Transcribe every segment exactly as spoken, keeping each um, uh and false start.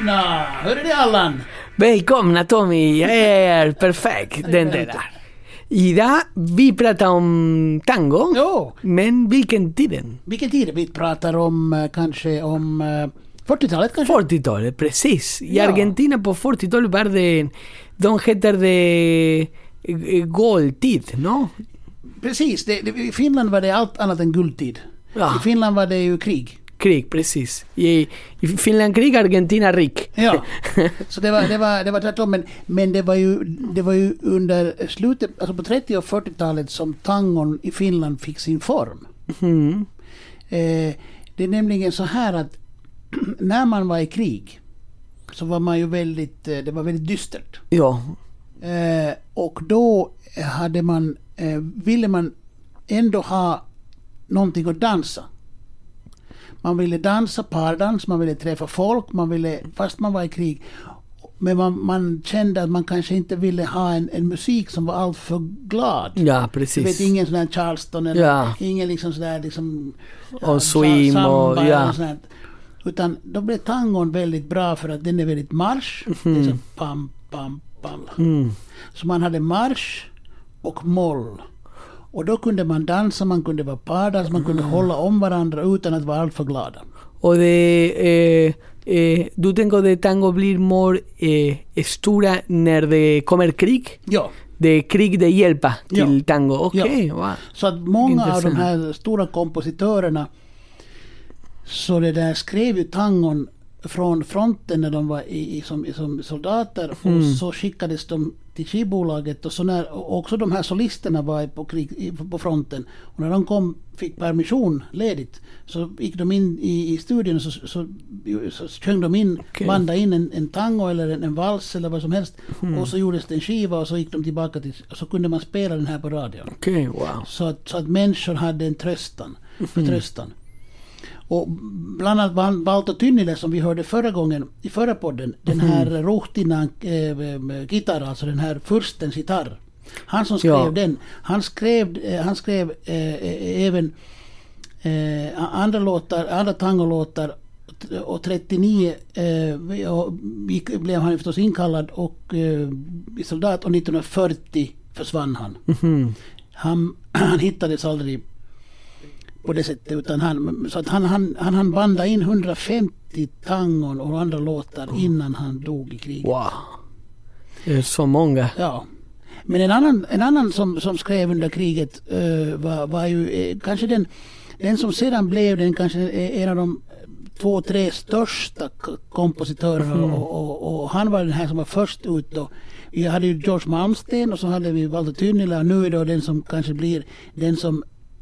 Välkomna! Hör är det Allan? Välkomna Tommy, jag är perfekt den där. Idag vi pratar om tango, Jo. men vilken tiden? Vilken tid? Vi pratar om eh, kanske om eh, fyrtiotalet kanske? fyrtiotalet, precis. I Ja. Argentina på fyrtiotalet var det, de heter det eh, guldtid, no? Precis, det, det, i Finland var det allt annat än guldtid. Ja. I Finland var det ju krig. Krig, precis. I, i Finland krig, Argentina rik. Ja, så det var, det var, det var tvärtom. Men, men det, var ju, det var ju under slutet, alltså på trettio- och fyrtiotalet som tangon i Finland fick sin form. Mm. Eh, det är nämligen så här att när man var i krig så var man ju väldigt, eh, det var väldigt dystert. Ja. Eh, och då hade man, eh, ville man ändå ha någonting att dansa. Man ville dansa pardans, man ville träffa folk, man ville, fast man var i krig. Men man, man kände att man kanske inte ville ha en, en musik som var allt för glad. Ja, Du vet, precis. ingen sån här Charleston eller Ja. ingen liksom sådär liksom Och swing samba och- eller ja. sånt här. Utan då blev tangon väldigt bra för att den är väldigt marsch. Det är så pam, pam, pam. Mm. Så man hade marsch och moll. Och då kunde man dansa, man kunde vara pardas, man kunde hålla om varandra utan att vara allt för glada. Och det, eh, eh, du tänker det tango blir mer eh, stora när det kommer krig? Ja, Det är krig det hjälper till Ja. tango? Okej, Ja. wow. så att många av de Intressant. här stora kompositörerna så det där skrev ju tangon från fronten när de var i, i, som, som soldater och så skickades de till skivbolaget och så när och också de här solisterna var på, krig, i- på fronten och när de kom fick permission ledigt så gick de in i, i studion och så, så, så, så sjöng de in, Okej. bandade in en, en tango eller en, en vals eller vad som helst och så gjordes det en skiva och så gick de tillbaka till och så kunde man spela den här på radion. Okej, wow. Så att, så att människor hade en tröstan, förtröstan. Och bland annat Val- Valto Tynnilä som vi hörde förra gången i förra podden, den här Ruhtinan äh, gitarr, alltså den här furstens gitarr. Han som skrev Ja. den, han skrev, eh, han skrev eh, även eh, andra låtar, andra tangolåtar och trettionio eh, och gick, blev han förstås inkallad och eh, i soldat och nittonhundrafyrtio försvann han. Mhm. Han, han hittades aldrig på det sättet utan han, så att han, han, han, han bandade in hundrafemtio tangon och andra låtar innan han dog i kriget. Wow. Det är så många. Ja. Men en annan, en annan som, som skrev under kriget uh, var, var ju eh, kanske den, den som sedan blev den kanske eh, en av de två, tre största k- kompositörerna Mm. och, och, och han var den här som var först ut då. Vi hade ju George Malmsteen och så hade vi Valto Tynnilä och nu är då den som kanske blir den som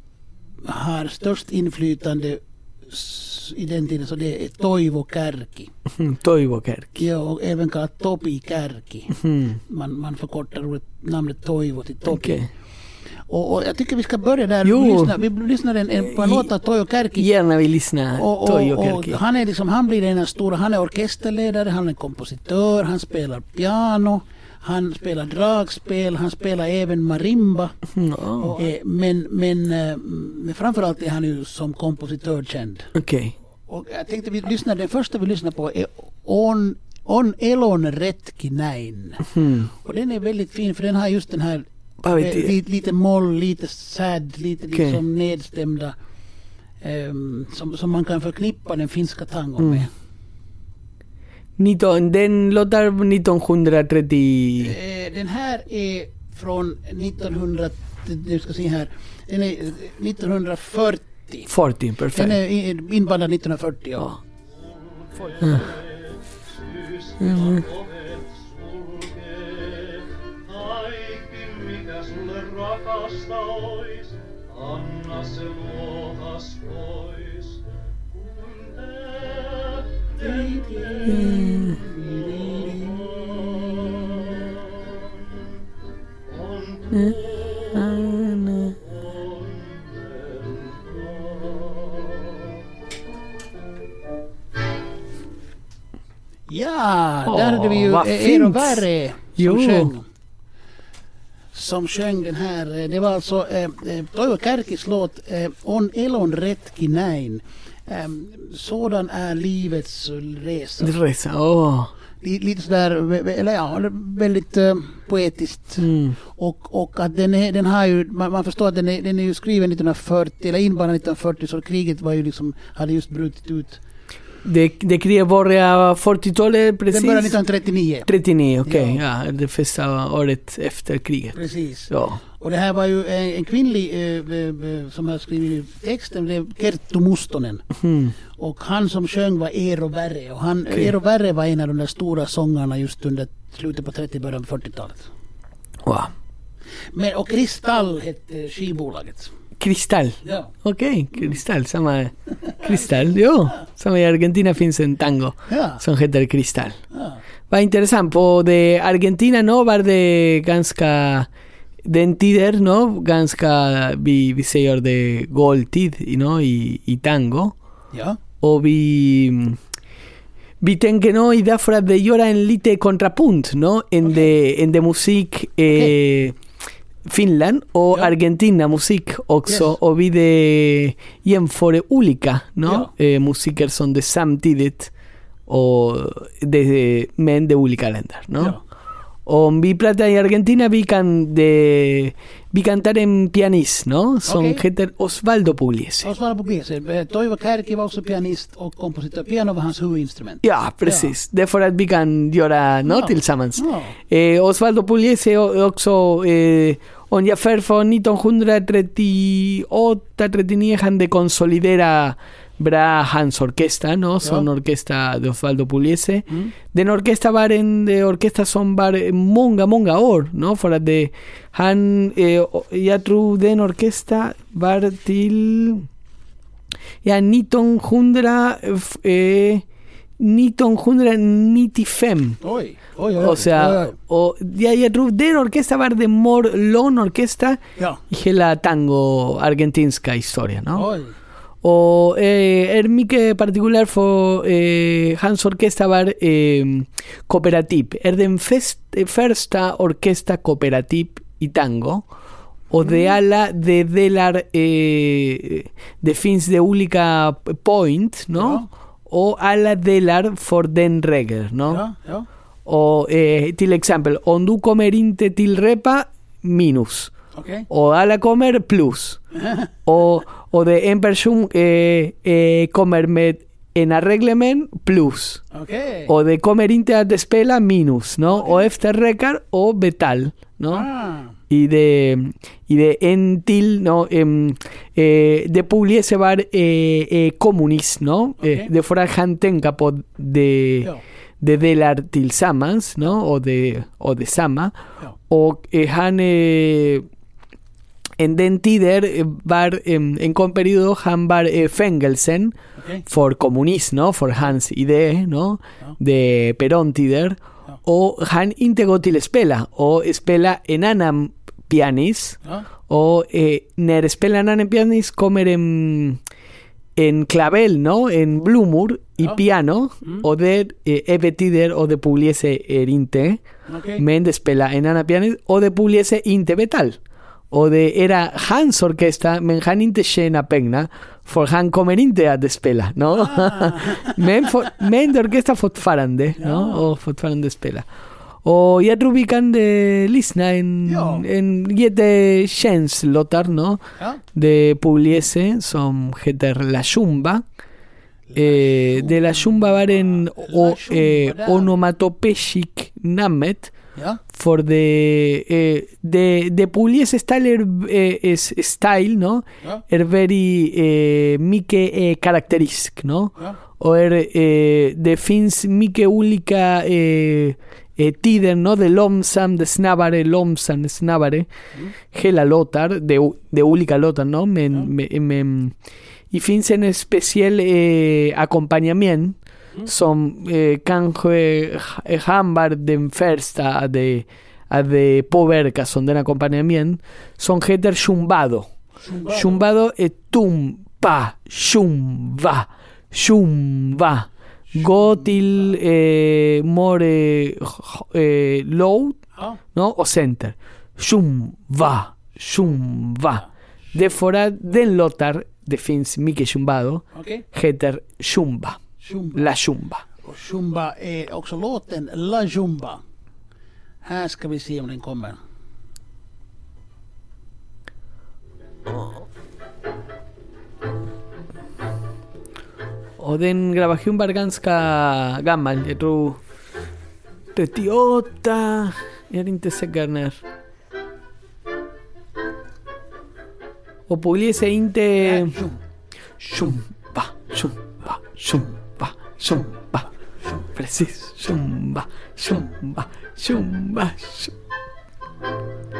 har störst inflytande s- i den tiden så det är Toivo Kärki. Toivo Kärki. Ja, och även kallat Topi Kärki. Mm. Man, man förkortar ordet, namnet Toivo till Topi. Okej. Och, och jag tycker vi ska börja där. Jo. Vi lyssnar, vi lyssnar en, en, på en I- låt av Toivo Kärki. Gärna vill lyssna. Och, och, Toivo och Kärki. han är liksom, han blir den stora, han är orkesterledare, han är kompositör, han spelar piano, han spelar dragspel, han spelar även marimba. Mm, oh. Eh, men, men, eh, men framförallt är han ju som kompositör känd. Okej. Och jag tänkte vi lyssnar, den första vi lyssnar på är On, on Elon Retki näin. Mm. Och den är väldigt fin för den har just den här Vad vet eh, du? lite, lite moll, lite sad, lite Okej. liksom nedstämda ehm, som, som man kan förknippa den finska tangon med. nitton, den låtar nittonhundratrettio. Eh, den här är från nittonhundra, nu ska se här, den är eh, nittonhundrafyrtio. fyrtio, Den perfekt. är i- inbandad nittonhundrafyrtio. Ja. Mm. Mm. Kaikki mikä sulle rakasta ois, anna se luotas pois. Kun tähti Ja, Åh, där hade vi ju vad Eero fint. Värre som Jo. sjöng. Som sjöng den här. eh, Det var alltså eh, eh, Toivo Kärkis låt eh, On Elon Retki näin. Um, sådan är livets resa. Resa, åh. Lite sådär, eller ja, väldigt uh, poetiskt. Mm. Och, och att den, är, den har ju, man, man förstår att den är, den är ju skriven nittonhundrafyrtio, eller inblandad nittonhundrafyrtio, så kriget var ju liksom, hade just brutit ut. Det, det kriget började fyrtiotalet precis? Den började nittonhundratrettionio. trettionio, okej. Okay. Ja. Ja, det första året efter kriget. Precis. Ja. Och det här var ju en, en kvinnlig eh, eh, som har skrivit texten, det är Kerttu Mustonen. Mm. Och han som sjöng var Eero Berre. Och han, Okay. Eero Berre var en av de där stora sångarna just under slutet på trettio, början på fyrtiotalet. Wow. Men, och Kristall hette skivbolaget. Kristall. Ja. Okej, okay. Kristall. Samma Kristall. Jo, som i Argentina finns en tango Ja. som heter Kristall. Ja. Vad intressant. På det Argentina no, var det ganska den tider, no, ganska vi, vi säger det goldtid, no, i, i tango. Ja. Och vi vi tänker no, i därför att det gör en lite kontrapunkt, no, en Okay. de en de musik eh, Okay. Finland och Ja. Argentina musik också. Yes. Och vi det jämför olika, no, Ja. eh, musiker som det samtidigt och det, men de olika länder, no. Ja. Om vi pratar i Argentina, vi kan de, vi cantar en pianist, no, som Okej. heter Osvaldo Pugliese. Osvaldo Pugliese. Toivo Kärki var också pianist och kompositör. Piano var hans huvudinstrument. Ja, precis. Därför att vi kan göra no, Ja. tillsammans. Ja. Eh, Osvaldo Pugliese är också eh, ungefär från nittonhundratrettioåtta trettionio han de konsolidera bra hans orkesta, no? Som Ja. orkesta de Osvaldo Pugliese. Mm. Den orkesta var en de orkesta som var många, många år, no? För att det, han, eh, jag tror den orkesta var till ja, nittonhundra, eh, nittonhundranittiofem. Oj, oj, oj. O sea, oj, oj. och jag, jag tror den orkesta var de more lång orkesta Ja. i hela tango argentinska historia, no? Oj. Och eh, är mycket particular för eh, hans orkesta var eh, kooperativ. Är den fest, första orkesta kooperativ i tango. Och de alla de delar eh, det finns de olika point, no? Ja. Och alla delar för den regel, no? Ja, ja. Och eh, till exempel, om du kommer inte till repa, minus. Okej. Och alla kommer plus. och, och det en person eh, eh, kommer med en arreglement plus. Okej. Och det kommer inte att spela minus, no? Och efter räkar och betal, no? Ah. Y de, y de en till, no, em, eh, de Pugliese var eh, eh, kommunist, no? Okay. Eh, de för att han tänka på de, Ja. de delar tillsammans, no? Och de, och de samma. Ja. Och eh, han eh, en den tider eh, var en, en kon periodo han var eh, fängelsen Okej. för kommunism, no? För hans idé, no? Ja. De Perón-tider. Ja. Och han inte går till spela och spela en annan pianist. Ja. Och eh, när spelar en annan pianist kommer en, en clavel, no? En blommor i Ja. piano. Mm. Och där eh, är tider och de Pugliese är inte. Okej. Men de spela en annan pianist och de Pugliese inte betal. Och det era hans orkesta, men han inte tjänar pengar, för han kommer inte att spela, no? Ah. men, for, men de orkesta fortfarande, Ja. no? Och fortfarande spela. Och jag tror vi kan eh, lyssna en, Ja. en jättekänslåtar, no? Ja. De Pugliese som heter La Zumba. Eh, de La Zumba var en o, eh, där. onomatopeiskt namnet. Ja. For the eh, the the Pugliese style er, eh, is style, no? Ja. Er very eh, mycket eh, karakteristisk, no? Ja. Och er eh, det finns mycket olika eh, eh, tider, no? De långsam, de snabbare, långsam, snabbare. Mm. Hela låtar, de, de olika låtar, no? Men, Ja. men, men det finns en speciell eh, ackompanjament Mm. som eh, kanske han var den första att de, att de påverka som den acompanjament som heter chumbado. Chumbado. Chumbado är tum, pa, chumba, chumba. Gå till eh, more eh, low, Ja. no? Och center. Chumba, chumba. Det för att den låtar det finns mycket chumbado, Okej. heter chumba. Chumba. La chumba. Och chumba är också låten La Chumba. Här ska vi se om den kommer. Och den grabación var ganska gammal, jag tror trettioåtta, jag är inte säker när. Och Pugliese inte... Chumba, chumba, chumba, chumba, precis, chumba, chumba, chumba, chumba.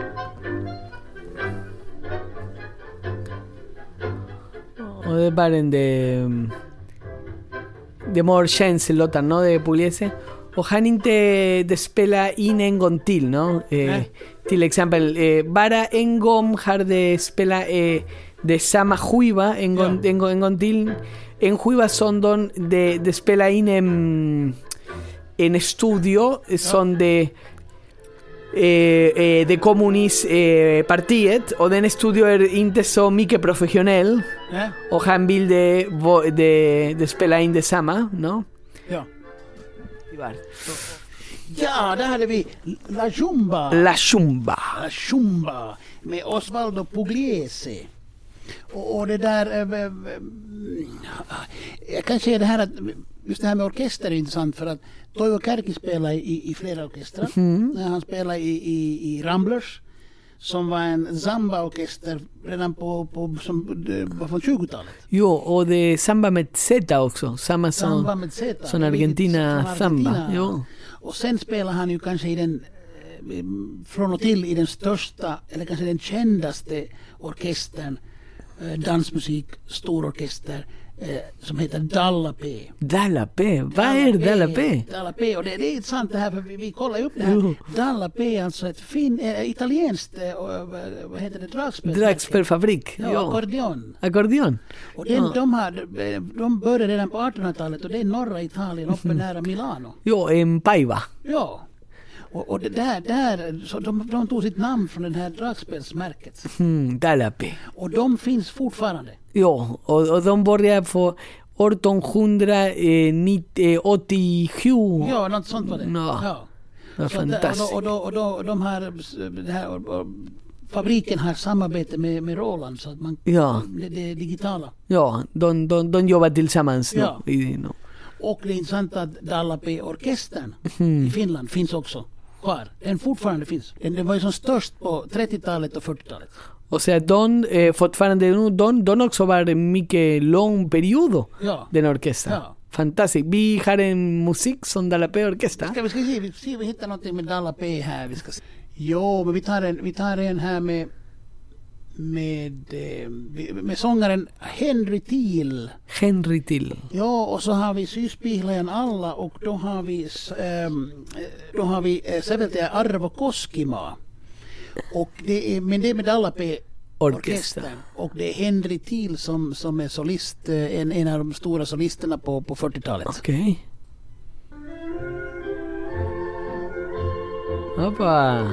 Och det är bara en de... de more känslolåtar, ¿no? De Pugliese. Och han inte det spelar in en gång till, ¿no? Eh, Nej. Till exempel, eh, bara en gång har det spelat eh, de samma skiva en gång, Ja. en gång, en gång till. En skiva som de, de, de spelar in en, en studio som de eh, eh, de kommunist eh, partiet, och den studio är inte så mycket professionell. Ja. Och han vill de, de, de spela in detsamma, no? Ja. Ja, där hade vi La Chumba. La Chumba. La Chumba med Osvaldo Pugliese. Och, och det där... Äh, äh, jag kan säga det här att just det här med orkester är intressant för att Toivo Kärki spelar i, i flera orkestrar. Mm. Han spelar i, i, i Ramblers som var en samba-orkester redan på, på som, det var från tjugotalet. Jo, och det är samba med Z också. Samma som, Samba med Z. som Argentina, Från samba. Argentina. Jo. Och sen spelar han ju kanske i den eh, från och till i den största eller kanske den kändaste orkestern, eh, dansmusik, stororkester eh, som heter Dalla P. Dalla P. Vad är Dalla P? Dalla P. Och det, det är intressant det här för vi, vi kollar upp det här. Jo. Dalla P är alltså ett fin, äh, italienskt, äh, vad heter det, dragspel? Dragspelfabrik. Ja, Jo. ackordeon. Ackordeon. Och den, Ja. de, har, de började redan på artonhundratalet och det är norra Italien uppe nära Milano. Jo, en Paiva. Ja. Och, och det där, där så de, de tog sitt namn från den här dragspelsmärket. Mm, Dalla P. Och de finns fortfarande. Jo, och, och de började på artonhundraåttiosju. Ja, något sånt var det. Ja. Ja. Det var Så där, fantastiskt. och, då, och, då, och, då, de här, det här och, och, fabriken har samarbete med, med Roland så att man, Ja. det, det är digitala. Ja, de, de, de jobbar tillsammans. Ja. No? I, no. Och det är intressant att Dalla P-orkestern Mm. i Finland finns också kvar. Den fortfarande finns. Den, den var ju som störst på trettiotalet och fyrtiotalet. O sea, de eh, fortfarande nu, de, de också var en mycket lång period Ja. den orkester. Ja. Fantastiskt. Vi har en musik som Dalla P-orkester. Ska vi ska se, vi, se, vi hittar någonting med Dalla P här. Vi ska se. Jo, men vi tar en, vi tar en här med med, eh, med sångaren Henry Thiel. Henry Thiel. Ja, och så har vi Syspihlajan alla och då har vi ähm, då har vi äh, säveltäjä Arvo Koskima. Och det är, men det är med Dalla P Orkester. orkestern. Och det är Henry Thiel som, som är solist, eh, en, en av de stora solisterna på, på fyrtiotalet. Okej. Hoppa.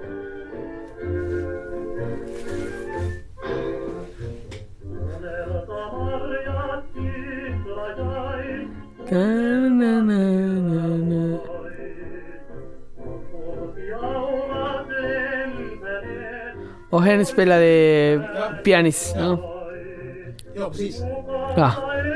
Na, na, na, na, na. Och hen spelade pianist, no? Ja, precis. Ja.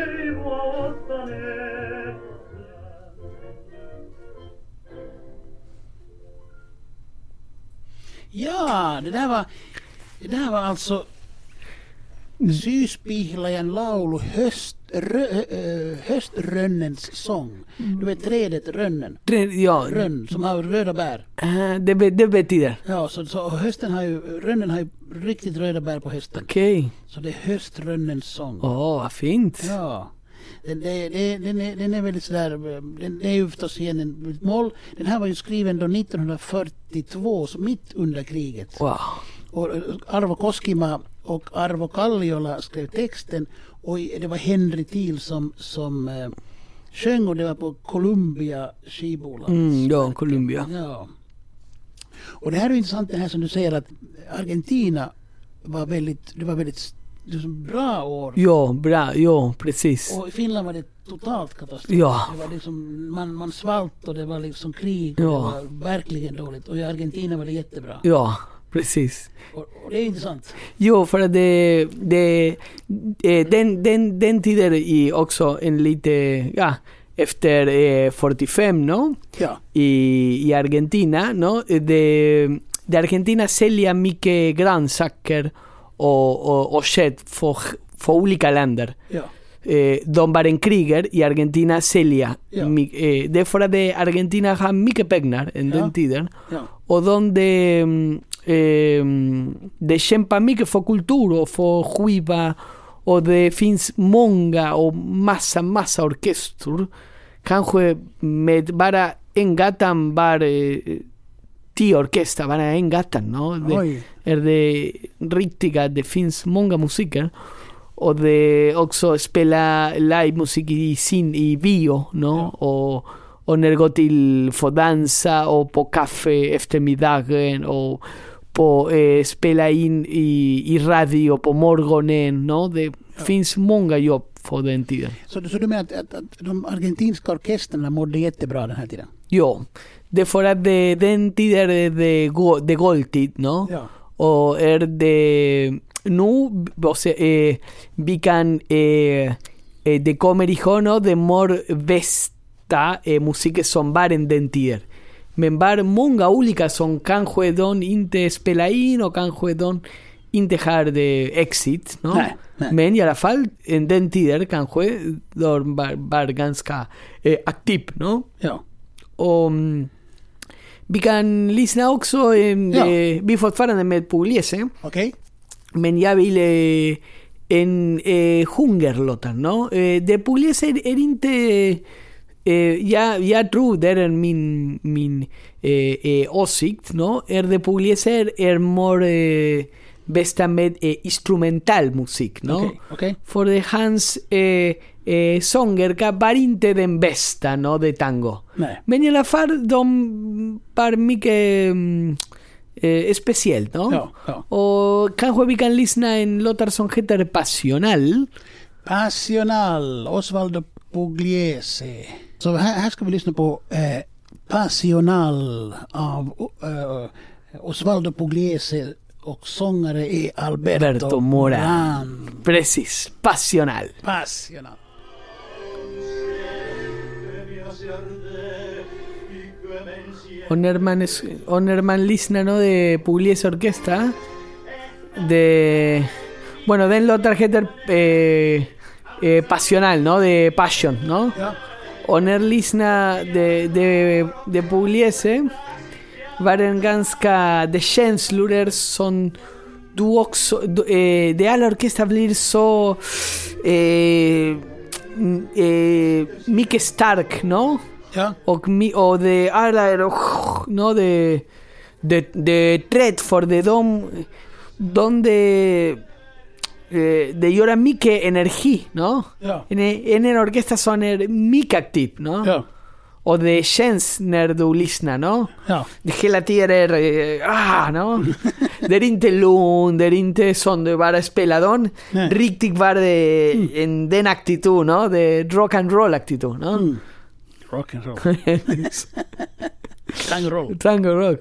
Ja, det där var det där var alltså Syspihlajan laulu höst, rö, äh, höströnnens sång. Du vet trädet rönnen. Re- Ja, Rönn som har röda bär. ah, det, be- det betyder. Ja, så, så hösten har ju, rönnen har ju riktigt röda bär på hösten. Okej. Så det är höströnnens sång. Åh, vad fint. Ja. Den, det, det, den, är, den är väldigt sådär, den, det är ju förstås igen en mål. Den här var ju skriven då nittonhundrafyrtiotvå, så mitt under kriget. Wow. Och Arvo Koskima och Arvo Kalliola skrev texten och det var Henry Thiel som, som eh, sjöng och det var på Columbia skivbolag. Mm, ja, Columbia. Ja. Och det här är intressant det här som du säger att Argentina var väldigt, det var väldigt liksom bra år. Ja, bra, ja, precis. Och i Finland var det totalt katastrof. Ja. Det var liksom, man, man svalt och det var liksom krig. Ja. Det var verkligen dåligt. Och i Argentina var det jättebra. Ja, precis. Och, och det är intressant. Jo, för att det, det, eh, den, den, den tiden är också en lite, ja, efter eh, fyrtiofem, no? Ja. I, i Argentina, no? De, de Argentina säljer mycket grönsaker och, och, och kött för, för olika länder. Ja. Eh, de var en kriger i Argentina säljer. Ja. My, eh, det är för att det, Argentina har mycket pengar en Ja. den tiden. Ja. Och de, de, eh, de kämpar mycket för kultur och för skiva. Och det finns många och massa, massa orkester. Kanske med bara en gatan var eh, tio orkester, bara en gatan. No? Det Oj. är det riktiga, det finns många musiker. Och det också spela livemusik i sin i bio, no? Ja. Och, och när går till för dansa och på kaffe eftermiddagen och på eh, spela in i, i radio på morgonen, no? Det finns många jobb för den tiden. Så, så du menar att, att, att de argentinska orkesterna mådde jättebra den här tiden? Jo, det är för att det, den tiden är det, go, det goldtid, no? Ja. Och är det nu, o sea, eh, vi kan eh, eh, det kommer ihåg de mor bästa eh, musik som var en den tiden. Men var många olika som kanske de inte spelar in och kanske de inte har det exit, no? Nej, nej. Men i alla fall en den tiden kanske de var, var ganska eh, aktiv, no? Ja. Och mm, vi kan lyssna också eh, Ja. eh, vi fortfarande med Pugliese. Okej. Men jag vill eh, en eh, hungerlåtar, no? Eh, det Pugliese är, är inte... Eh, jag, jag tror det är min, min eh, eh, åsikt, no? Är det Pugliese är, är mer eh, bästa med eh, instrumental musik, no? Okej. Okej. För det hans eh, eh, sånger var inte den bästa, no? De tango. Nej. Men i alla fall de var mycket mm, eh, speciellt, no? Ja, ja. Och kanske vi kan lyssna en låtar som heter Passional. Passional, Osvaldo Pugliese. Så här, här ska vi lyssna på eh, Passional av eh, Osvaldo Pugliese och sångare är Alberto, Alberto Moran. Moran. Precis, Passional. Passional. Och när man, es- och när man lyssnar, no, de Pugliese Orquesta, de... Bueno, den låtar heter eh, eh, Passional, no? De Passion, no? Ja. Och när lyssnar de, de, de Pugliese var den ganska... De känslor som du också... Du, eh, de alla orkester blir så... Eh, mm, eh, mycket stark, no? Ja. Och, mi, och de alla är... No? De, de, de trätt för de de... Donde... Eh, de gör mycket energi, no? Ja. En, en, en orkester som är mycket aktiv, no? Ja. Och det känns när du lyssnar, no? Ja. Det hela tiden är... eh, ah, no? Det är inte lugnt, det är inte som det bara speladon. Nej. Riktigt var det en, den aktitud, no? Det rock and roll aktitud, no? Mm. Rock and roll. Tango roll. Tango rock.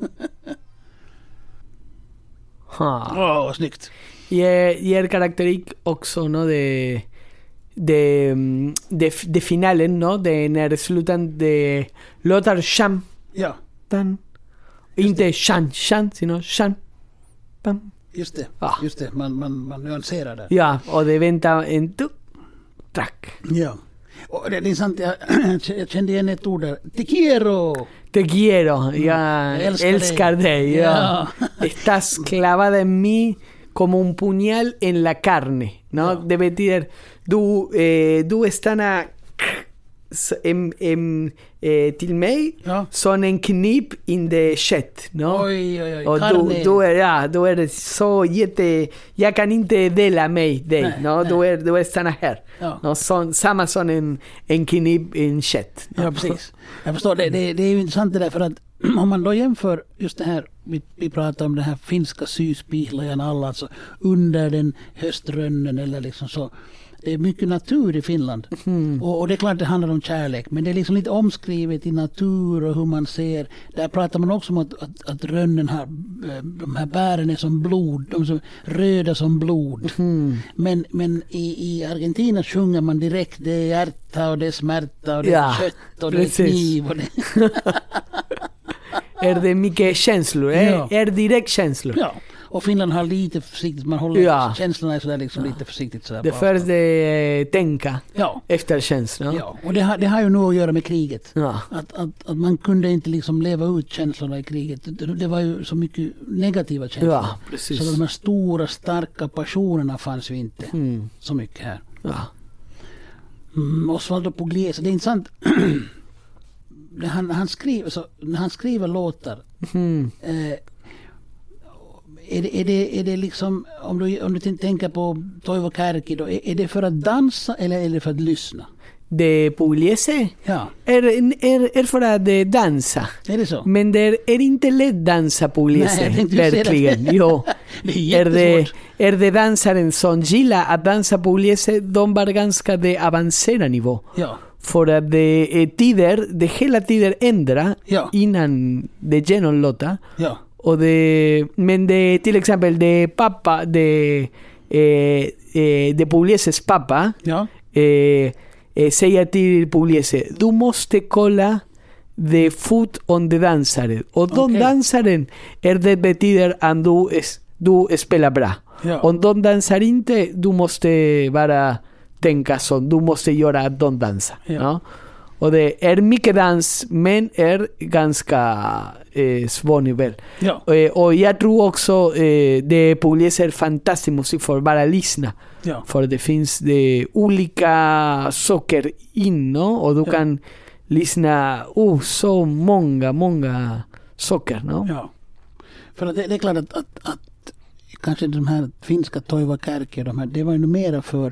Ha. Åh, vad snyggt. Y, es- y es característico också, no? De, de, mm, de, de finalen, no? De när det slutan de låtar sham, Ja, tan. Inte shan, shan, sino shan. Pam. just det. Ja. Just det. Man, man, man nyanserar det. Ja, och de väntar en tu, track. Ja. Och det, det är sant, jag, jag kände igen ett ord där. Te quiero! Te quiero, jag Jag älskar älskar dig. dig. Ja. Ja. Estás clavada en mí como un puñal en la carne, ¿no? Ja. Det betyder du, eh, du stanna en, en, eh, till mig Ja. som en knip in the kött, ¿no? Oj, oj, oj. Och du, Carne. du, är, ja, du är så jätte... Jag kan inte dela mig dig, Nej, no? nej. Du, är, du är stanna här. Ja. No? Som, samma som en, en knip in kött. Ja, precis. Jag förstår. Det, det, det är ju intressant det där för att om man då jämför just det här vi, vi pratar om den här finska syspihlajan alla, alltså under den höströnnen eller liksom så. Det är mycket natur i Finland. Mm. Och, och det är klart det handlar om kärlek. Men det är liksom lite omskrivet i natur och hur man ser. Där pratar man också om att, att, att rönnen har, de här bären är som blod. De är som röda som blod. Mm. Men, men i, i Argentina sjunger man direkt. Det är hjärta och det är smärta och det ja, är kött och precis. Det är kniv. Och det är det mycket känslor? Är, ja. är direkt känslor? Ja. Och Finland har lite försiktigt, man håller ja. känslorna är sådär liksom ja. lite försiktigt sådär. Det först är tänka ja. efter känslor. Ja, och det har, det har ju nog att göra med kriget. Ja. Att, att, att man kunde inte liksom leva ut känslorna i kriget. Det, det var ju så mycket negativa känslor. Ja, precis. Så de här stora, starka passionerna fanns ju inte mm. så mycket här. Ja. Mm, Osvaldo Pugliese, det är intressant. han, han, skriver, så, när han skriver låtar mm. eh, Är det, är, det, är det liksom, om du, om du tänker på Toivo Kärki då, är, är det för att dansa eller är det för att lyssna? Det Pugliese ja. är, är, är för att dansa. Är det så? Men det är, är inte lätt dansa Pugliese, Nej, verkligen. Jo. Det är är, det, är det dansaren som gillar att dansa Pugliese, de var ganska det avancerade nivå. Ja. För att det är tider, det hela tiden ändrar ja. innan det genomlåta. Ja. Och det, men det till exempel det pappa, det, eh, eh, det Puglieses pappa ja. eh, eh, säger till Pugliese, du måste kolla the foot on the dansaren. Och de okay. dansaren är det betyder att du, du spelar bra. Ja. Om de dansar inte, du måste bara tänka så, du måste göra att de dansar. Ja. Ja? Och det är mycket dans, men är ganska eh, svår nivå. Ja. Eh, och jag tror också eh, det Pugliese är fantastisk musik för att bara lyssna. Ja. För det finns det olika saker in, och du ja. kan lyssna oh, så många, många saker. No? Ja. För att det, det är klart att, att, att kanske de här finska Toivo Kärki, de här, det var ju mera för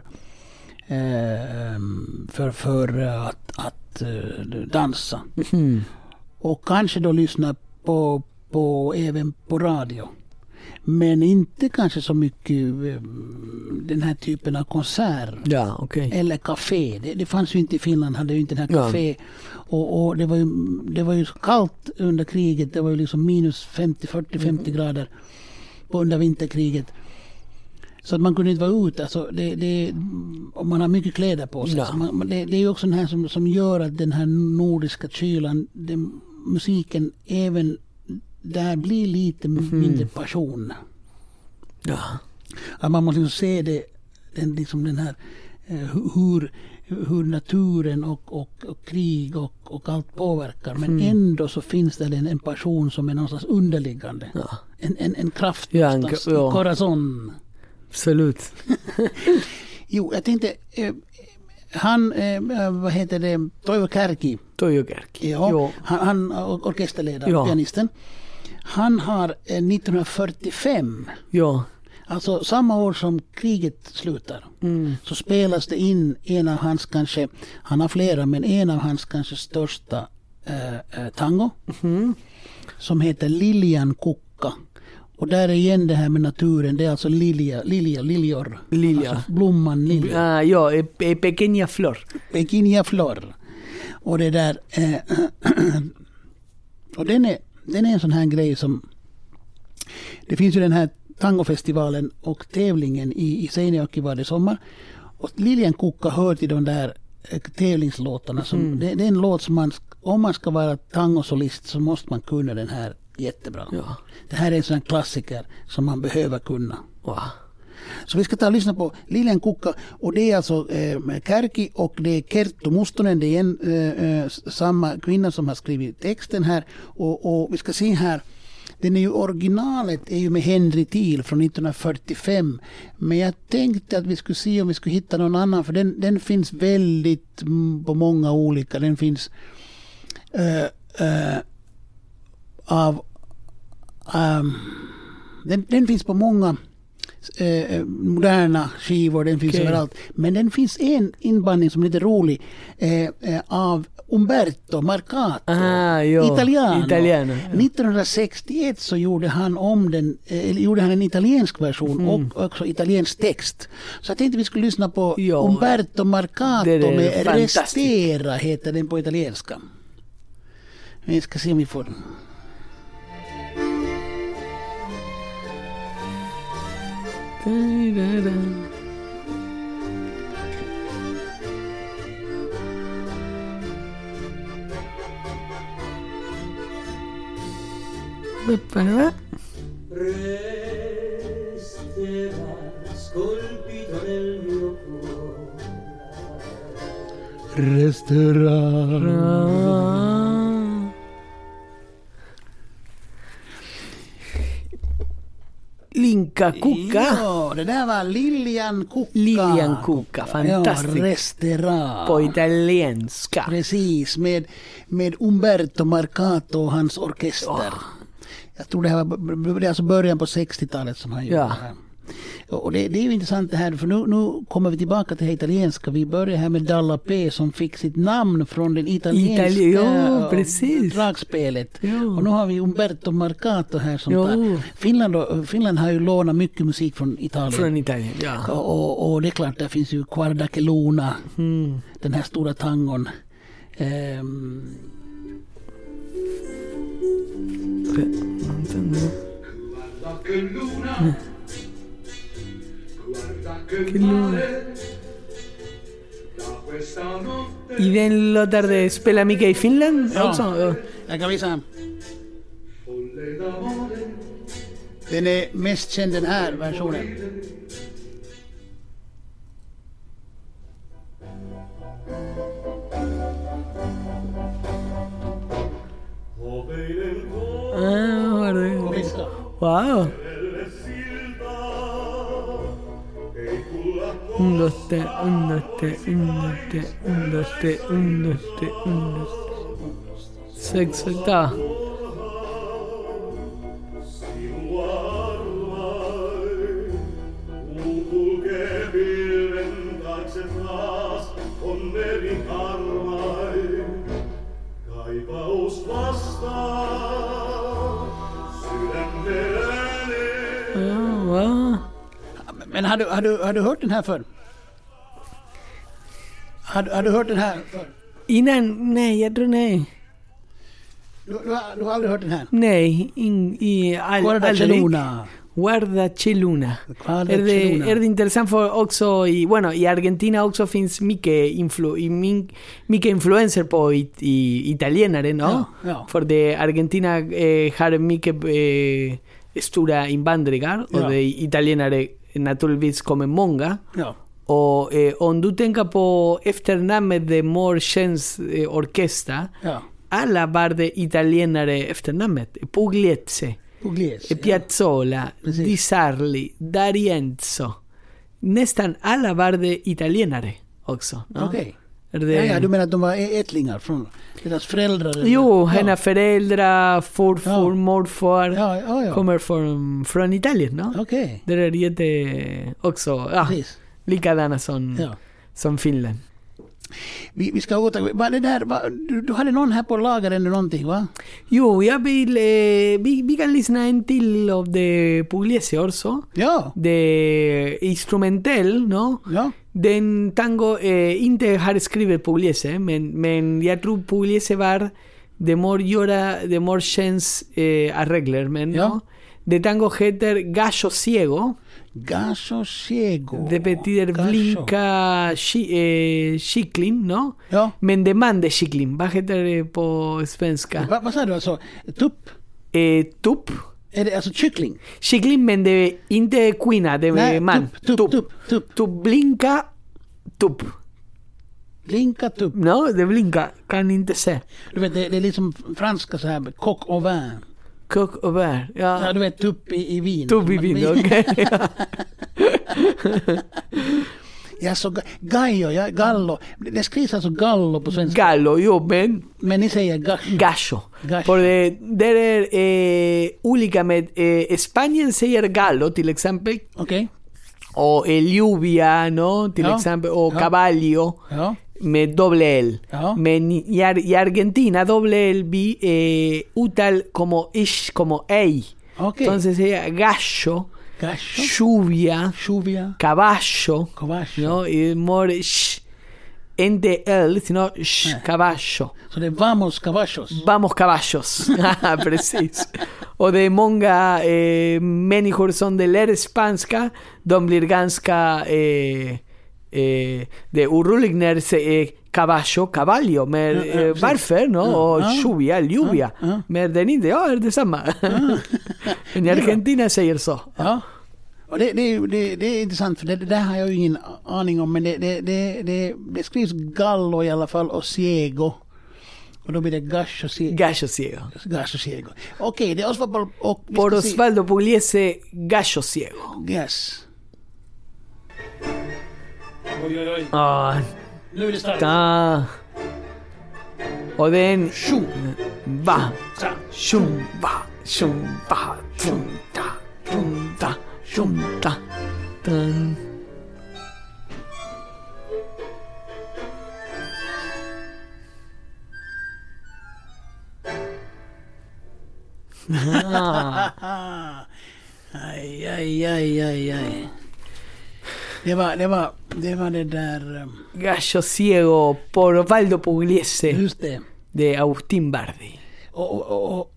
eh, för, för att, att dansa. Mm. Och kanske då lyssna på, på även på radio. Men inte kanske så mycket den här typen av konsert. Ja, okay. Eller café. Det, det fanns ju inte i Finland, hade ju inte den här café. Ja. Och, och det var ju det var ju kallt under kriget. Det var ju liksom minus femtio, fyrtio, femtio mm. grader på under vinterkriget. Så att man kunde inte vara ute. Alltså det, det, om man har mycket kläder på sig. Ja. Man, det, det är ju också den här som, som gör att den här nordiska kylan, den, musiken även där blir lite mm. mindre passion. Ja. Att man måste se det, den, liksom den här hur, hur naturen och, och, och krig och, och allt påverkar. Men mm. ändå så finns det en, en passion som är någonstans underliggande. Ja. En, en, en kraft ja, någonstans en, ja. i corazon. Absolut. Jo, jag tänkte eh, han, eh, vad heter det, Toivo Kärki. Toivo Kärki. Ja, jo. Han, han orkesterledare, ja. pianisten. Han har eh, nittonhundrafyrtiofem. Ja. Alltså samma år som kriget slutar. Mm. Så spelas det in en av hans kanske, han har flera, men en av hans kanske största eh, tango. Mm. Som heter Lilian Kukka. Och där är igen det här med naturen. Det är alltså lilja, lilja, liljor. Lilja. Alltså blomman lilja. Ah, ja, e, pequeña flor. Pequeña flor. Och det där... Eh, och den är, den är en sån här grej som... Det finns ju den här tangofestivalen och tävlingen i, i Seinäjoki varje sommar. Och Lilian Kukka hör till de där eh, tävlingslåtarna. Som, mm. det, det är en låt som man... Om man ska vara tangosolist så måste man kunna den här jättebra. Ja. Det här är en sån klassiker som man behöver kunna. Wow. Så vi ska ta och lyssna på Lilian Kukka, och det är alltså eh, Kärki och det är Kerttu Mustonen, det är en eh, samma kvinna som har skrivit texten här, och, och vi ska se här, den är ju originalet är ju med Henry Thiel från nittonhundrafyrtiofem, men jag tänkte att vi skulle se om vi skulle hitta någon annan, för den, den finns väldigt mm, på många olika, den finns eh, eh, av um, den, den finns på många eh, moderna skivor, den finns okay. överallt, men den finns en inbandning som är lite rolig eh, eh, av Umberto Marcato, Ah, jo. italiano. Italiano, ja. nittonhundrasextioett så gjorde han om den, eh, gjorde han en italiensk version Mm. och också italiensk text. Så jag tänkte vi skulle lyssna på Ja. Umberto Marcato Det är med fantastiskt. Restera heter den på italienska. Vi ska se om vi får den. Resterà scolpito nel mio cuore. Restaurang. Linka Kuka. Ja, det där var Lilian Kuka. Lilian Kuka, fantastiskt. Ja, Restaurang. På italienska. Precis, med, med Umberto Marcato och hans orkester. Jag tror det här var det är alltså början på sextiotalet som han gjorde Ja. det här. Och det, det är ju intressant det här, för nu, nu kommer vi tillbaka till det italienska. Vi börjar här med Dalla P som fick sitt namn från den italienska Itali- ja, äh, precis. dragspelet. Ja. Och nu har vi Umberto Marcato här som Jo. tar. Finland, och, Finland har ju lånat mycket musik från Italien. Från Italien, ja. Och, och, och det är klart, där finns ju Guarda che Luna, Mm. den här stora tangon. Ehm, Guarda che luna, guarda che Che luna. mare, da questa notte Y den låtar de Spela Mika i Finland Ja. också? Ja. jag kan visa. folle d'amore, Den är mest känd den här versionen. ove nel cuore Ah, var det. Visst. Wow. delle silva, e culla Un, dos, tre, un, dos, tre, un, dos, tre, un, dos, tre, un, dos, tre, un, dos, tre. Sex, åtta. che pilven taakse taas onneri harmai. Kaipaus vastaa sydämelläni. Ah, wow. Men har du, har, du, har du hört den här förr? Har, du- har du hört den här förr? Innan, nej, jag tror nej. Du, du, har, du har aldrig hört den här? Nej, in, i all, Guarda che aldrig. Luna. Guarda che Luna. Guarda Är che det, Luna. är det intressant för också i, bueno, i Argentina också finns mycket, influ, i min, mycket influenser på it, i, italienare, no? Ja, ja. För det Argentina eh, har mycket eh, stora invandringar Ja. och det italienare naturligtvis kommer många. Ja. Och eh, om du tänker på efternamnet de Morchens eh, orkester, Ja. alla var det italienare efternamnet. Pugliese, Pugliese. Piazzolla, Precis. Di Sarli, D'Arienzo. Nästan alla var det italienare också. Ja. No? Okej. Är det... Ja, ja, du menar att de var ättlingar från deras föräldrar? eller? Jo, ja. hennes föräldrar, farfar, Ja. morfar Ja, ja, ja. kommer från, från Italien. No? Okej. Det är jätte också ja, Precis. likadana som, Ja. som Finland. Vi, vi ska återgå. Var det där, var, du, du hade någon här på lager eller någonting, va? Jo, jag vill, eh, vi, vi kan lyssna en till av det Pugliese också. Ja. Det instrumental, no? Ja. Den tango eh, inte har skrivit Pugliese, men, men jag tror Pugliese var de more göra, de more chans eh, arregler, men Ja. no? Det tango heter Gallo Ciego. Gaso ciego. Det betyder Gaso. blinka chi, eh, kyckling, no? Ja. Men det man de kyckling, vad heter det på svenska? Va, vad sa du alltså? Tupp? Eh, tupp. Är det alltså kyckling? Kyckling, men det är inte kvinna, det är Nej, man. tupp, tupp, tupp, tupp. Tupp, blinka, tupp. Blinka tupp. No, det blinkar, kan inte se. Du vet, det, det är liksom franska så här, coq au vin. Coq au vin, ja. Ja, du vet, tupp i, i vin. Tupp i vin, Men- okej. Ja, så ga- Gallo, ja, gallo. Det skrivs alltså gallo på svenska. Gallo, jo, men Men ni säger gash. gallo. Gallo. För det, det är eh, olika med, eh, Spanien säger gallo till exempel, Okej. och eh, lluvia, no, till Ja. exempel, och Ja. caballo. Ja. med doble L. Ja. Men i, Ar- i Argentina doble L vi eh, utal como ish, como ey. Ok. Entonces sería gallo, Gallo. lluvia, Lluvia. caballo, Caballo. ¿no? Y more sh, ente L, sino sh, Eh. caballo. Så det är vamos caballos. Vamos caballos. Ah, precis. Och det är många eh, människor som det lär spanska. De blir ganska eh, eh, det orolig när det säger caballo, caballo. Men Ja, ja, eh, precis. varför? No? Ja, Och ja. lluvia, lluvia. Ja, ja. Men den inte, ja, är det samma. Men i Argentina säger så. Ja. Och det, det, det, det är intressant för det, det där har jag ju ingen aning om, men det, det, det, det, det skrivs gallo i alla fall och ciego. Och då blir det gasho ciego. Gallo ciego. Gasho ciego. Okej, det är Osvaldo och... vi Por ska se- Osvaldo Pugliese, gallo ciego. Yes. Oj, oj, oj. Ah, Nu är det starkt. ta. Och den Tjo, va. sa, Shumba, shumba, tumta, tumta, shumta, dun. Ah, Ah. Aj, aj, aj, aj, aj. Det var, det var, det var det där... um, Gallo ciego por Osvaldo Pugliese Just det. de Agustín Bardi. Och... och, och, och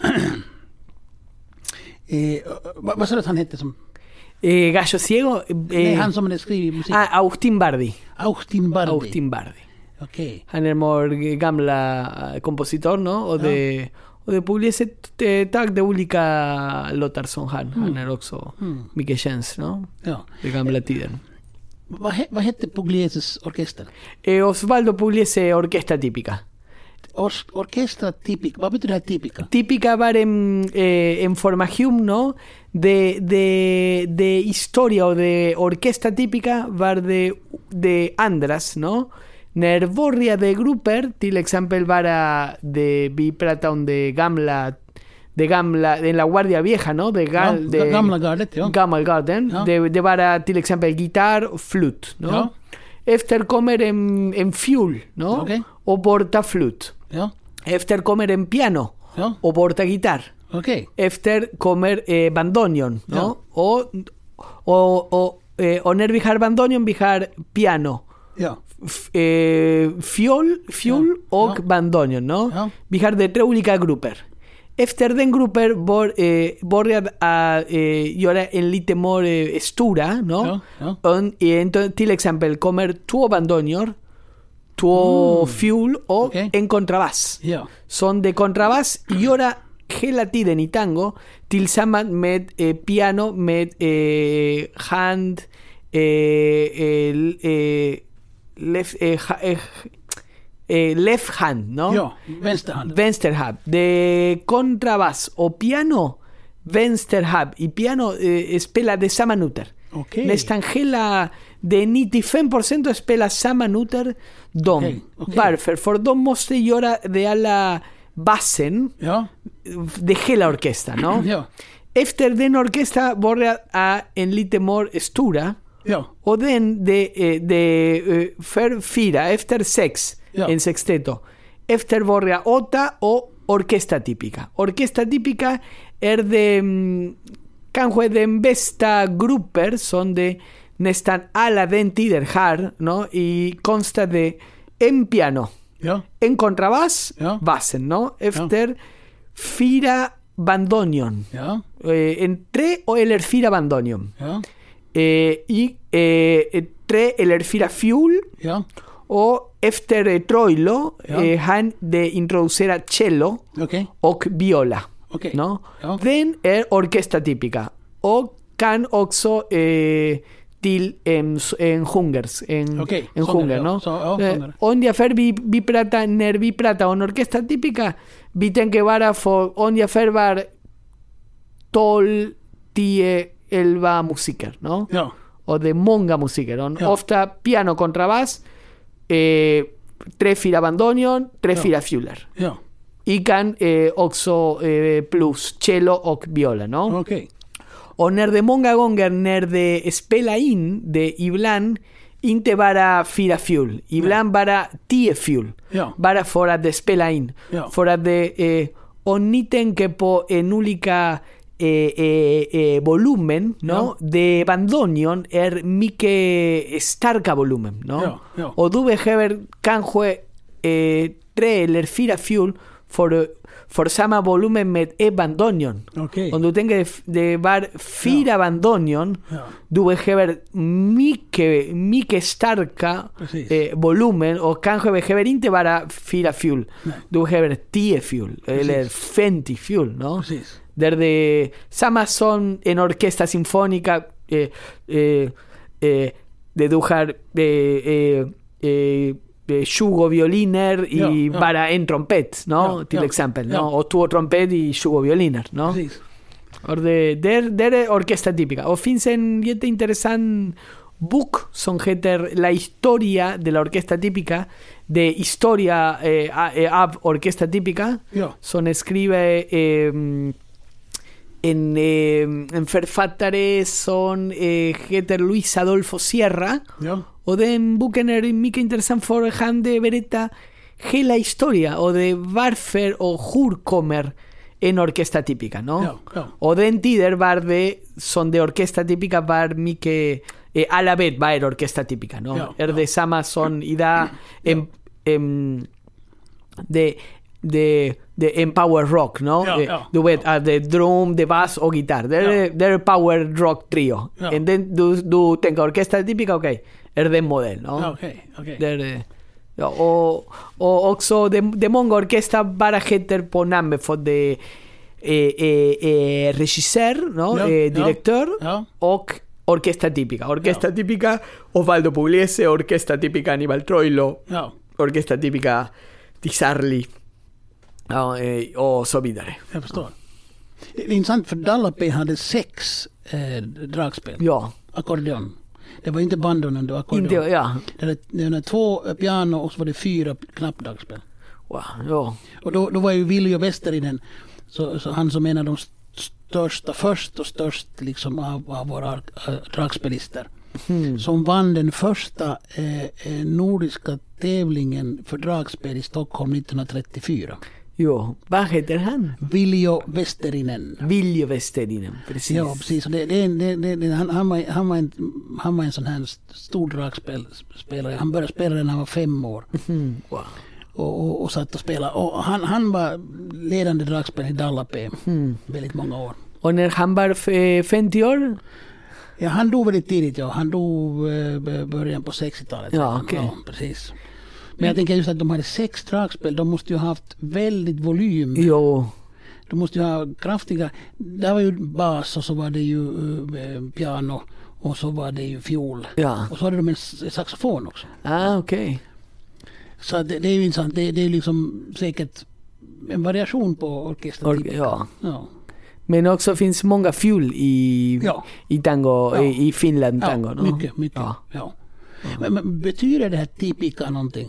eh, vad, vad sa du att han hette som... Eh, Gallo ciego. Eh, Nej, han som hade skrivit musik. ah, Agustín Bardi. Austin Bardi. Agustín Bardi. Okej. Han är vår gamla eh, kompositor, no? Och de, och de Pugliese eh, tag de olika låtar som han. Han är också mycket känd, no? Ja. De gamla tiden. Vad, he, vad hette Puglieses orkester? Eh, Osvaldo Pugliese Orquesta Típica. Or, orkestra típica. Vad betyder det här típica? Típica var en, eh, en formación, ¿no? De, de, de historia o de orquesta típica var de, de andras, ¿no? När borria de grupper, till exempel bara de vi pratar om de gamla de gamla en la guardia vieja, ¿no? De, gal, Ja, de gamla gardet, ja. Gammal garden, Ja. de, de bara till exempel gitarr och flut, ¿no? Ja. Efter kommer en, en fiol, ¿no? Okej. Och borta flut. Ja. Efter kommer en piano Ja. och borta gitarr. Okej. Efter kommer eh, bandoneon, ¿no? Ja. Och, och, och, eh, och när vi har bandoneon vi har piano, Ja. f- eh, fiol, fiol Ja. och Ja. bandoneon, ¿no? Ja. Vi har de tre olika grupper. Efter den grupper bör, eh, börjar a eh, göra en lite mer eh, stora, ¿no? Ja, ja. Och, eh, entonces, till exempel kommer två bandoneon, två fiol och Okej. en kontrabass. Ja. Son de kontrabass göra hela tiden i tango tillsammans med eh, piano med eh, hand eh, eh, eh, left, eh, ha- eh, eh, left hand, ¿no? Ja. Vänsterhand. Vänster hand. De kontrabass och piano vänster hand. Y piano eh, spela de samma noter. Okej. Nästan hela de nittiofem procent spelar samma noter de. Okej, okej. Varför? För de måste göra de alla basen Ja. de hela orkestern, no? Ja. Efter den orkestra börjar a en lite mer stora Ja. och den de, eh, de eh, för fyra, efter sex, Ja. en sexteto. Efter börjar åtta och orkestra típica. Orkestra típica är de mm, kanske den bästa grupper som de nästan alla den tiden har, no? Y consta de en piano, Ja. en kontrabass, Ja. basen, no? Efter fyra bandoneon. Ja. Eh, en tre o eller fyra bandoneon. Ja. Eh, y eh, tre eller fyra fiol. Ja. Och efter eh, Troilo Ja. eh, han de introducera cello Okej. och viola. Okej. ¿No? Ja. Den är orkestra típica. Och kan också eh, till en, en hungers, en, Okej, en sångare, hunger, ja. no? Så, ja, eh, sångare. ungefär vi, vi pratar, när vi pratar om orkestra típica, vi tänker bara för ungefär var tolv, tio, elva musiker, no? Ja. Och det är många musiker. Och Ja. ofta piano, kontrabass, eh, tre, fyra bandoneon, tre, Ja. fyra fioler. Ja. Y kan eh, också eh, plus cello och viola, no? Okej. Och när det många gånger när det spelar in det ibland inte bara fyra fjol. Ibland bara tio fjol. Ja. Bara för att det spelar in. Ja. För att det, eh, om ni tänker på en olika eh, eh, eh, volumen, no? Ja. De bandoneon är mycket starka volumen. No? Ja, ja. Och du behöver kanske eh, tre eller fyra fjol för, för samma volumen med ett bandoneon. Okej. Om du tänker det var fyra Ja. bandoneon, Ja. du behöver mycket, mycket starka Precis. eh, volumen och kanske behöver inte bara fyra fjol. Nej. Du behöver tio fjol eller femtio fjol, no? Precis. Där det samma som en orkesta symfónica eh, eh, eh, det du har eh, eh, eh, eh, tjugo violiner y Ja, ja. bara en trompet, no? Ja, Till ja, exempel, ja. no? Och två trompet y tjugo violiner, no? Precis. Och det, det, det är orkesta típica. Och finns en jätteintressant bok som heter La historia de la orquesta típica, de historia eh, a- eh, av orquesta típica, Ja. som skriver eh, en, eh, en författare som eh, heter Luis Adolfo Sierra. Ja. Och den boken är mycket intressant för han de berätta hela historia och de varför och hur kommer en orkesta típica, no? Ja, ja. Och den tiden var det som de orkesta típica var mycket eh, alla vet vad är orkesta típica, no? Ja, är ja. det samma som idag en, en, de, de, de en power rock, no? Ja, Eh, ja, du vet, ja. de drum, de bass och gitarr. Det är, Ja. det är power rock trio. Ja. Och den, du, du tänker orkesta típica, okej. Är den modell, no? Ja, okej, okej. Det är, eh, ja, och, och också de, de många orkester bara heter på namnet för de eh, eh, eh, regissör, no? Ja, eh, ja, direktör ja. och orquesta típica. Orquesta típica Osvaldo Pugliese, orquesta típica Aníbal Troilo, Ja. orquesta típica Di Sarli, ja, eh, och så vidare. Jag förstår. Det är intressant för Dallapé hade sex eh, dragspel. Ja, Ackordeon. Det var inte bandonen, det var ackordeon. inte, ja. Det var, det var två piano och så var det fyra knappdragspel. Wow, ja. Och då, då var ju Viljo Westerinen, så, så han som är en av de största, först och störst liksom av, av våra äh, dragspelister. Hmm. Som vann den första eh, eh, nordiska tävlingen för dragspel i Stockholm nittonhundratrettiofyra. Jo, vad heter han? Viljo Westerinen. Viljo Westerinen, precis. Ja, precis. Och det, det, det, det, det, han, han, var, han, var en, han var en sån här stor dragspelare. Han började spela när han var fem år. Mm, wow. Och, och, och satt och spelade. Och han, han var ledande dragspelare i Dallapé Mm. väldigt många år. Och när han var eh, femtio år? Ja, han dog väldigt tidigt. Ja. Han dog eh, början på sextiotalet. Ja, okej. Ja, precis. Men jag tänker just att de hade sex dragspel. De måste ju ha haft väldigt volym. Jo. De måste ju ha kraftiga... Där var ju bas och så var det ju uh, piano och så var det ju fiol. Ja. Och så hade de en s- saxofon också. Ah, okej. Så det, det är ju intressant. Det, det är liksom säkert en variation på orkester. Or- ja. Ja. Men också finns många fjol i, Ja. i tango, Ja. i, i Finland Ja, tango, no? mycket, mycket. Ja. Ja. Men, men betyder det här typica någonting?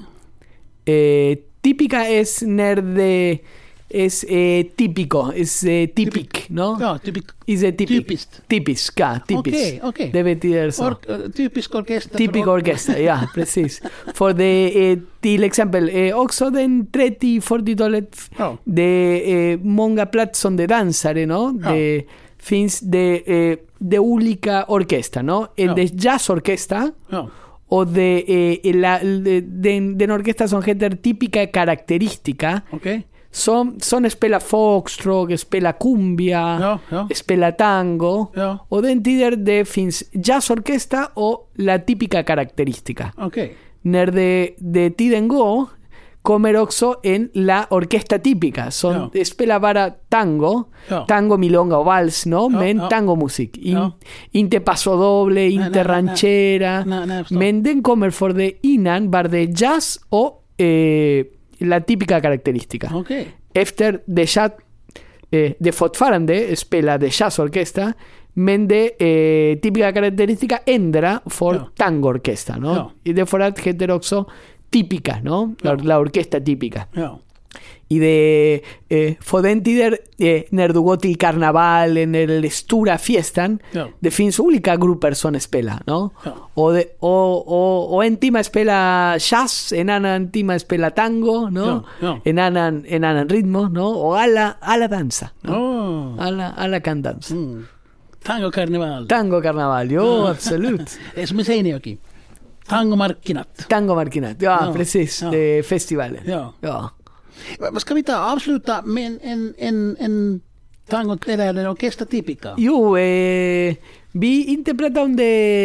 Eh, típica es när det es eh, típico, es eh, typic, no? Ja, typic, Is a typic. typiskt. Typiska, typisk. Okej, okej. Det betyder så. Or, uh, typisk orkester. Typisk för- orkester, ja, precis. För det, eh, till exempel, eh, också den trettio-fyrtiotalet, Ja. det är eh, många plats som de dansare, no? Ja. Det finns det, eh, de olika orkester, no? En Ja. de jazzorkester Ja. och de, eh, la, de, den, den orkester som heter típica característica, Okej. som, som spelar foxtrot, spelar cumbia, Ja, ja. spelar tango. Ja. Och den tiden det finns jazzorkesta och la típica característica. Okej. När det, det tiden går kommer också en la orkesta típica som Ja. spelar bara tango, Ja. tango, milonga och vals, no? Ja, Men ja. tangomusik. In, Ja. Inte pasodoble, nej, inte nej. ranchera. Nej, nej, jag förstår. Men den kommer för det innan var det jazz och eh, la típica característica. Okej. Efter det jazz, eh, det fortfarande spelar det jazzorkesta, men det eh, típica característica ändrar för Ja. tangoorkesta, no? Ja. Y det för att heter också típica, no? La, Ja. la orquesta típica. Ja. y de eh, Fodentider eh, när du går till karnevalen eller stora fiestan, Ja. det finns olika grupper som spelar, no? Ja. Och, det, och, och, och en timme spelar jazz, en annan timme spelar tango, no? Ja, ja. En annan, en annan ritmo, no? Och alla, alla dansa, no? Oh. alla, alla kan dansa. Mm. Tango karneval. Tango karneval, jo, absolut. Det är som i Seinäjoki. Tangomarkkinat. Tango markinat, ja, Ja, precis, ja. det är festivalen. Ja. Ja. Vad ska vi ta avsluta med en, en, en, en tango eller en orkester tipica? Jo, eh, vi inte pratade om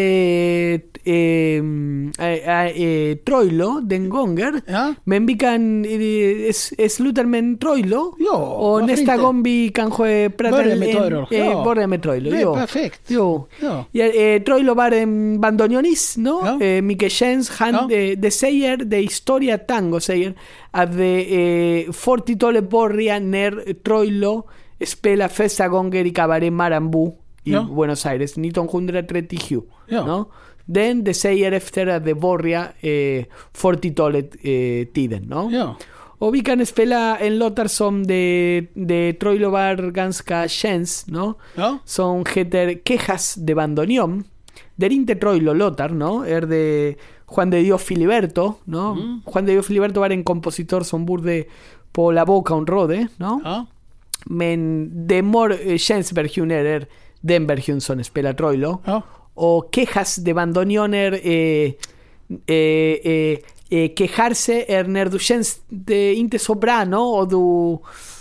det eh, eh, eh, Troilo den gången. Ja. Men vi kan eh, s- sluta med en Troilo. Ja, och varför nästa inte? gång vi kanske pratar Börja med Troilo, Eh, ja. börja med Troilo. Det är jo. perfekt. Jo. Ja. Ja, eh, Troilo var en bandoneonist, no? Ja. Eh, Micke Jens, han, Ja. eh, det säger, det historia tango säger att det eh, fyrtiotalet börjar när Troilo spelar första gången i Cabaret Marambú i Ja. Buenos Aires nittonhundratrettiosju. Ja. No? Den det säger efter att det börjar eh, fyrtiotalet eh, tiden. No? Ja. Och vi kan spela en låtar som det, det Troilo var ganska käns, no? Ja. Som heter Quejas de bandoneón. Det är inte Troilo-låtar, no? Är det Juan de Dios Filiberto, no? Mm. Juan de Dios Filiberto var en kompositor som borde på La Boca un Rode, no? Ja. Men det more eh, käns version är den version som spelar Troilo. Ja. Och Quejas de bandoneón är eh, eh, eh, eh, quejarse är när du känns det inte så bra, no? Och du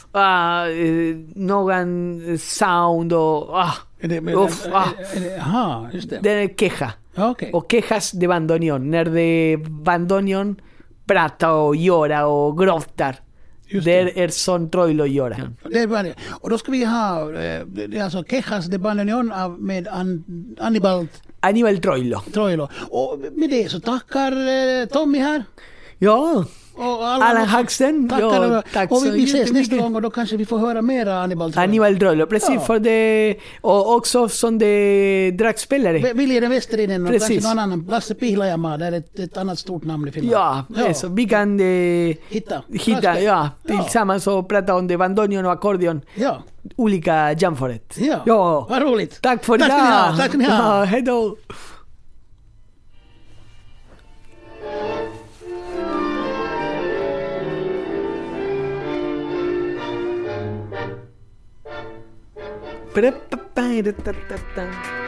ah, eh, någon sound och ah, Är det, men, Uff, är, ah. är, är det, aha, just det. det är queja. Ja, okej. Och quejas de bandoneón, när det bandoneón prata och göra och gråtar. Just Det det. är som Troilo gör. Det är bara det. Och då ska vi ha, eh, det är alltså Quejas de Bandoneón av med An, Annibal Aníbal Troilo. Troilo. Och med det så tackar eh, Tommy här. Ja, Och alla Allan också. Haxten. Tackar. Ja, och- tack och vi, så vi ses nästa jättemycket. gång och då kanske vi får höra mera Annibal Troilo. Aníbal Troilo, precis, Ja. för det, och också som det dragspelare. V- Viljeren Westerinen och Precis. kanske någon annan. Lasse Pihlajamaa, det är ett, ett annat stort namn i Finland. Ja, eso, vi kan eh, Hitta. hitta, Dragspel. ja, Ja. tillsammans och prata om det bandoneon och ackordeon. Ja. Olika jamforet. Ja. Ja. Vad roligt. Tack för Tack ska ni idag. ha. Tack ska ni ha. Ja, hej då. Pre-pa-pa-ra-ta-ta-ta.